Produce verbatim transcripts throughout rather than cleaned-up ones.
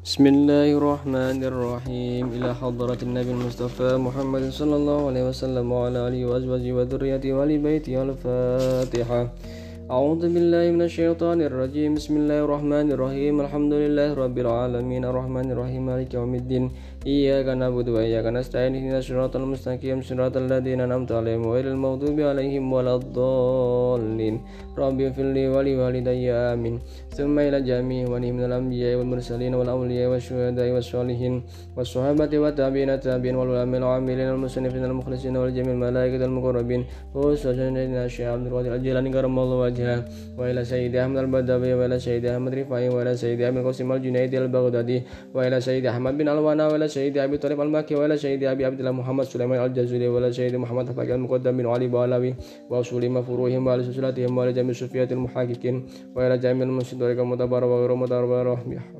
Bismillahirrahmanirrahim. Ila hadratin Nabi Mustafa Muhammad sallallahu alaihi wasallam wa ala alihi wa azwajihi wa dhurriyyatihi wa li baitihi. Al-Fatihah. A'udzu billahi minasyaitonir rajim. Bismillahirrahmanirrahim. Alhamdulillahi rabbil alamin arrahmanir rahim maliki yaumiddin. Iyyaka na'budu wa iyyaka nasta'in ihdinas siratal mustaqim siratal ladzina an'amta 'alaihim ghairil maghdubi 'alaihim waladdallin. Rabbi ighfirli wa li walidayya amin. Tsumma ila jami'i wa minal anbiya'i wal mursalin wal awliya'i wasyuhada'i wassalihin wassahabati wa tabi'ina tabi'in wal ulama'i wal 'amilin wal musannifin wal mukhlisin wal jami'il malaikati wal muqarrabin. Wassalamu'alaikum Syekh Abdul Qadir Al-Jilani karamallahu wajhah wa ila Sayyidi Ahmad Al-Badawi wa ila Sayyidi Ahmad Rifai wa ila Sayyidi Ahmad Qasim Al-Junaidi Al-Baghdadi wa ila Sayyidi Ahmad bin Alwana wa ila Sayyidi Abi Thalib Al-Makki wa ila Sayyidi Abi Abdullah Muhammad Sulaiman Al-Jazuli wa ila Sayyidi Muhammad Al-Faqih Al-Muqaddam bin Ali Balawi wa usuli mafruhim wa ala susulatihim wa ala jami' sufiyatil muhaqqiqin wa ila jami'il musyidorika mutabara wa ghairu mutabara.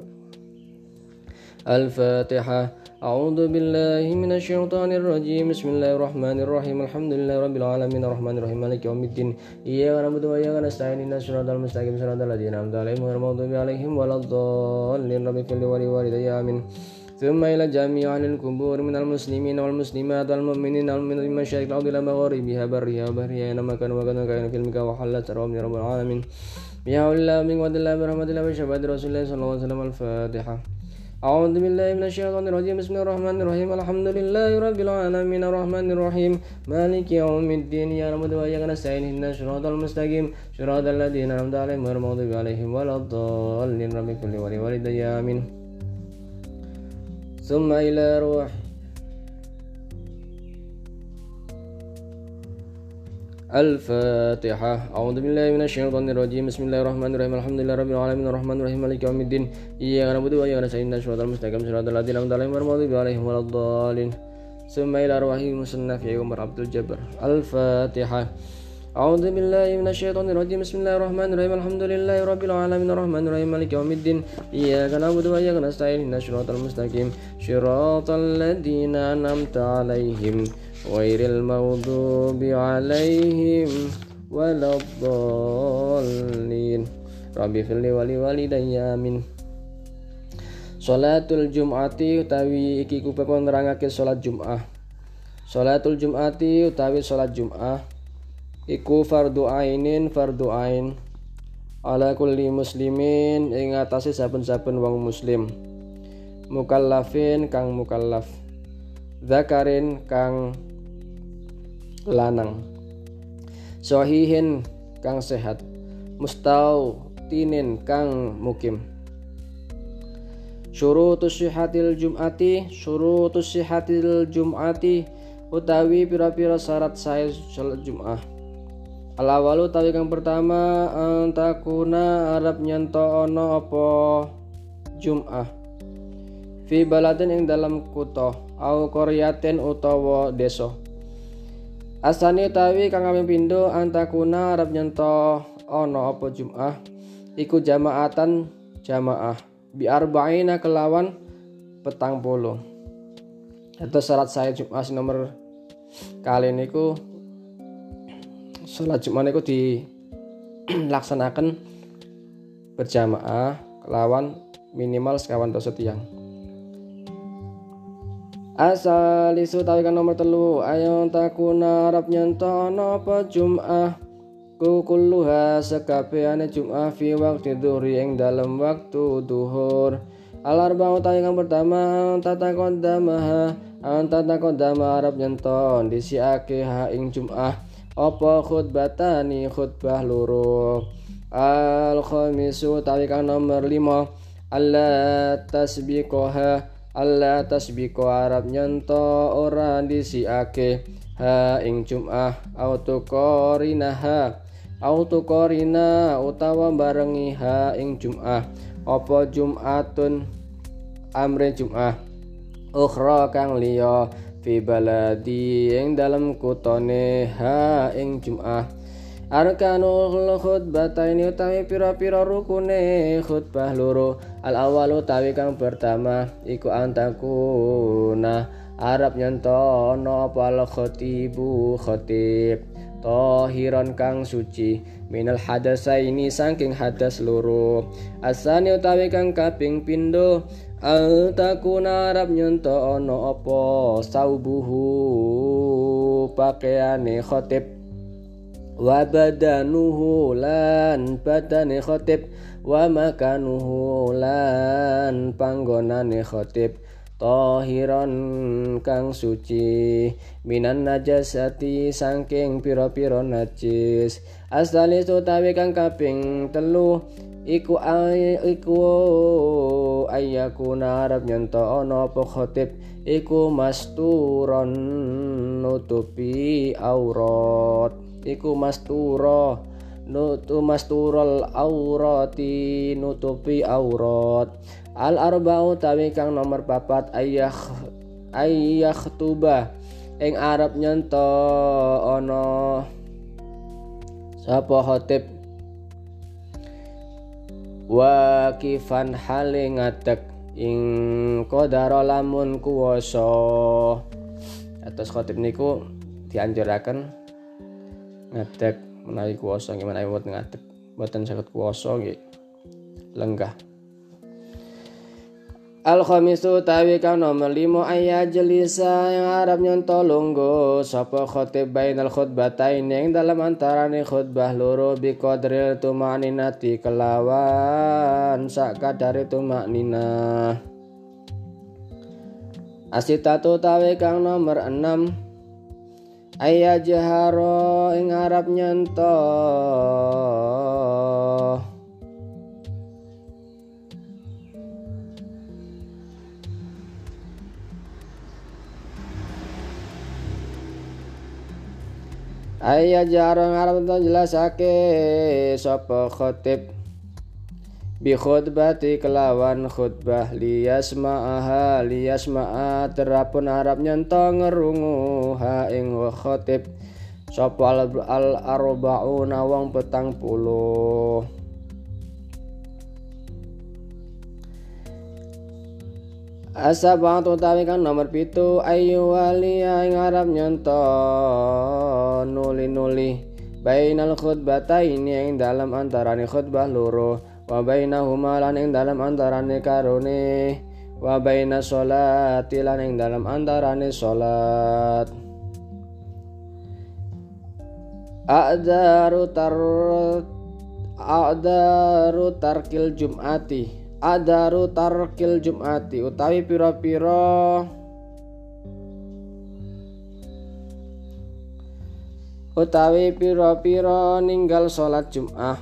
Al-Fatihah. A'udzu billahi minasyaitonir rajim. Bismillahirrahmanirrahim. Alhamdulillahi rabbil alamin arrahmanir rahim maliki yaumiddin. Iyyaka na'budu wa iyyaka nasta'in ihdinas siratal mustaqim siratal ladzina an'amta 'alaihim ghairil maghdubi 'alaihim waladdallin. Rabbi ighfirli wa li walidayya amin. Tsumma ila jami'i ahlil qubur minal muslimin wal muslimat wal mu'minin wal mu'minat min masyariqil ardi ila magharibiha barriha bahriha nama kana wa kana kana fil mika wa halat rabbil alamin. Ya Allah min wa dalla bi rahmatillah wa syafa'ati rasulillah sallallahu alaihi wasallam. Al-Fatihah. A'udzu billahi minasyaitonir rajim. Bismillahirrahmanirrahim. Alhamdulillahi rabbil alamin arrahmanir rahim maliki yaumiddin. Ya na'budu wa iyyaka nasta'in ihdinas siratal mustaqim siratal ladzina an'amta 'alaihim ghairil maghdubi 'alaihim waladdallin. Rabbi ighfirli wa li walidayya amin. Tsumma ila ruh Al-Fatihah. A'udzu billahi minasyaitonir rajim. Bismillahirrahmanirrahim. Alhamdulillahi rabbil alamin arrahmanir rahim maliki yaumiddin. Iyyaka na'budu wa iyyaka nasta'in ihdinas siratal mustaqim siratal ladzina an'amta 'alaihim ghairil maghdubi 'alaihim waladdallin. Tsumma ila ruhi musannaf ya Umar Abdul Jabbar. Al-Fatihah. A'udzu billahi minasyaitonir rajim. Bismillahirrahmanirrahim. Alhamdulillahi rabbil alamin arrahmanir rahim maliki yaumiddin. Iyyaka na'budu wa iyyaka nasta'in ihdinas siratal mustaqim siratal ladzina an'amta 'alaihim ghairil maghdubi 'alaihim waladdallin. Rabbi ighfirli wa li walidayya amin. Salatul Jum'ati utawi iki kupe nerangake salat Jum'ah. Salatul Jum'ati utawi salat Jum'ah iku fardu ainin fardu ain ala kulli muslimin ing atase saben-saben wong muslim, mukallafin kang mukallaf, zakarin kang lanang, sahihin kang sehat, mustautinin kang mukim. Syurutus sihhatil jum'ati syurutus sihhatil jum'ati utawi pira-pira syarat sae salat Jum'ah. Al-awalu tawi kang pertama antakuna arab nyanto ana apa Jum'ah fi baladin ing dalam kutha au qaryatin utawa desa. Asani utawi kang kaping pindho antakuna arab nyanto ana apa Jum'ah iku jamaatan jamaah bi arba'ina kelawan petang puluh. Atau syarat saya Jum'ah nomor kali niku salat Jum'ah niku dilaksanakan berjamaah kelawan minimal sekawan dosa tiang. Asal isu tawikan nomor telu ayon takuna arab nyanto apa Jum'ah kukulluha sekabehane Jum'ah fi waqti dhuhri ing dalam waktu duhur. Al-arba'u tawikan pertama tata qadamaha anta taqaddama arab nyanto disiake ha ing Jum'ah apa khutbatani khutbah loro. Al-khamisu tawi kang nomor lima alla tasbiqoha alla tasbiqo arab nyanto ora disiake ha ing Jum'ah autokorinaha autokorina utawa barengi ha ing Jum'ah apa Jum'atun amre Jum'ah ukhra kang liya fi baladi ing dalam kutone ha ing Jum'ah. Arkanul khutbataini utawi pira-pira rukune khutbah loro. Al awalu utawi kang pertama iku antakuna arab nyanto ana apa al khatibu khatib tahiran kang suci minal hadasaini saking hadas loro. Asani utawi kang kaping pindho Altakuna arab nyonto ono apa saubuhu pakaiane khotib wa badanuhu lan badane khotib wa makanuhu lan panggonane khotib tahiran kang suci minan najasati saking pira-pira najis asali utawi kang kaping telu iku ay, iku ayakuna arab nyento ana apa khotib iku masturon nutupi aurat iku mastura nutu masturul aurati nutupi aurat al arba'u tawi kang nomor papat ayah ayah tuba ing arab nyento ana sapa khotib wa kifan hale ngadeg ing qadara lamun kuwasa atus khotib niku dianjuraken ngadeg menawi kuwasa nggih menawi mboten ngadeg mboten saged kuwasa nggih lenggah. Al khamisu tawi kang nomor lima ayat jelisa yang arab nyonto lungguh sapa khotib bainal khutbatain yang dalam antarane khutbah loro bi qadril tumaninati kelawan sak kadare tumanina. Asitatu tawi kang nomor enam ayat jaharo ing arab nyonto ayat jarang arab to jelasake sapa khotib bi khutbati kelawan khutbah liyasma'aha liyasma'a terapun arab nyento ngerungu ha ing khotib sapa al arba'una wong petang puluh. Asabatu tawi kang nomor pitu ayu waliya ing arab nyonto nuli-nuli bainal khutbataini ing dalam antarane khutbah loro wa bainahuma lan ing dalam antarane karone wa baina sholati lan ing dalam antarane salat a'daru tar a'daru tarkil jum'ati adaru tarkil jum'ati utawi pira-pira utawi pira-pira ninggal salat Jum'ah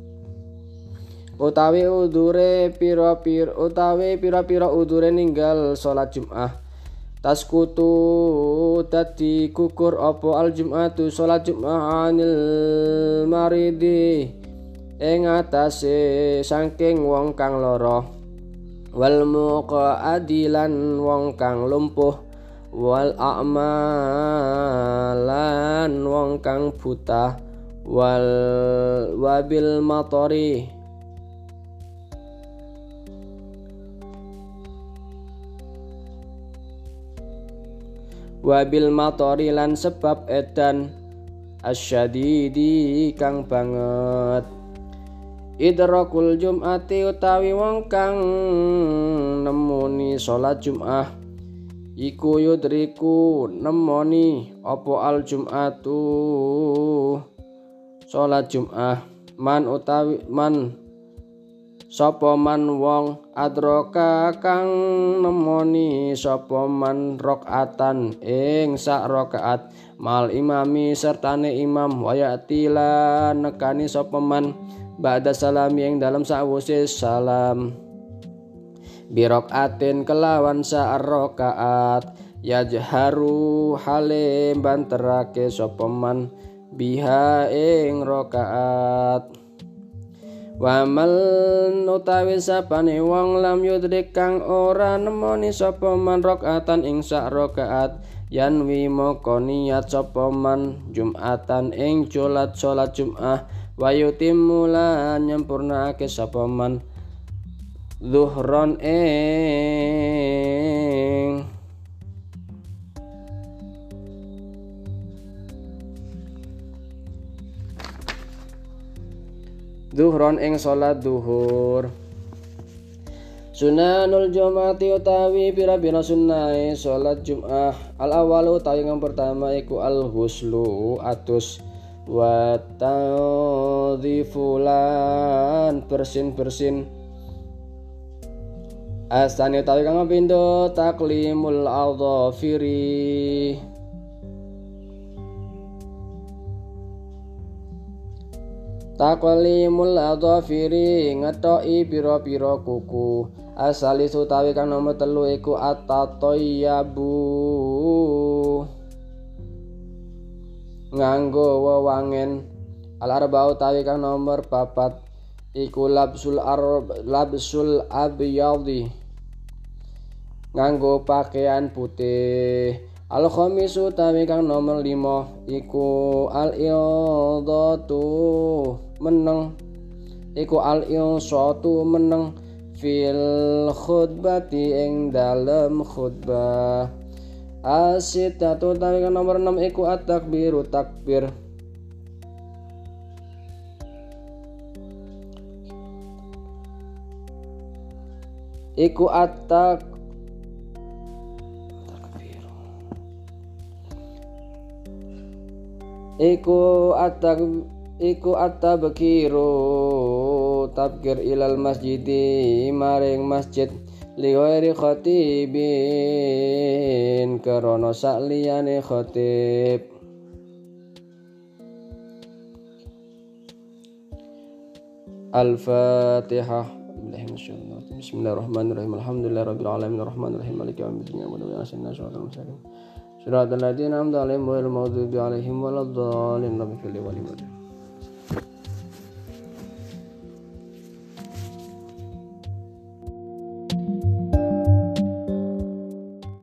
utawi udure pira-pira utawi pira-pira udure ninggal salat Jum'ah taskutu dadi gugur apa al Jum'atu salat Jum'ah anil maridi ing atase saking wong kang lara wal muqadilan wong kang lumpuh wal a'malan wong kang buta wal wabil matori wabil matori lan sebab edan asyadidi kang banget idrakul jum'ati utawi wong kang nemoni salat Jum'ah iku yudriku nemoni apa al jum'atu salat Jum'ah man utawi man sapa man wong adroka kang nemoni sapa man rakaatan ing sak rakaat mal imami sertane imam wayatila nekani sapa man ba'da salami yang dalam sa'wuse salam birokaatin kelawan sa'rokaat yajharu halim banterake sopeman biha ing rokaat wamal utawi sapane wong lam yudrik kang ora nemoni sopeman rokaatan ing sa'rokaat yanwi moko niat sopeman jum'atan ing sholat sholat Jum'ah wa yutimmu lan nyempurnake sapa man zuhron ing zuhron ing salat zuhur Sunanul Jum'ati utawi pira-pira sunnahe salat Jum'ah. Al awalu utawi kang pertama iku al ghuslu atus wa tadhifulan bersin-bersin. Asani utawi kang pindho taklimul adhafiri Taklimul adhafiri ngetoki pira-pira kuku. Asali utawi kang nomor telu iku at-tatayyabu nganggo wewangen. Al-arba utawi kang nomor papat iku labsul arab labsul abyadi nganggo pakaian putih. Al-khamis utawi kang nomor lima iku al-idatu meneng iku al-insatu meneng fil khutbati ing dalem khutbah. As-sittatu utawi kang nomor enam iku at-takbiru takbir iku at-tak iku at-tak iku at-tabkiru tabkir ilal masjidi maring masjid li ghairi khatibin karana sakliyane khatib. Al-Fatihah. Bismillahirrahmanirrahim. Alhamdulillahirabbil alamin arrahmanirrahim maliki yaumiddin iyyaka na'budu wa iyyaka nasta'in ihdinas siratal mustaqim siratal ladzina an'amta 'alaihim ghairil maghdubi 'alaihim waladdallin.